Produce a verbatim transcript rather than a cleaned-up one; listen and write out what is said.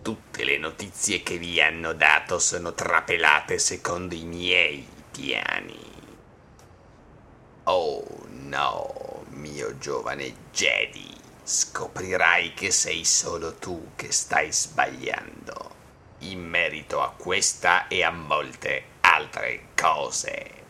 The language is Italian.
Tutte le notizie che vi hanno dato sono trapelate secondo i miei piani. Oh no, mio giovane Jedi, scoprirai che sei solo tu che stai sbagliando, in merito a questa e a molte altre cose.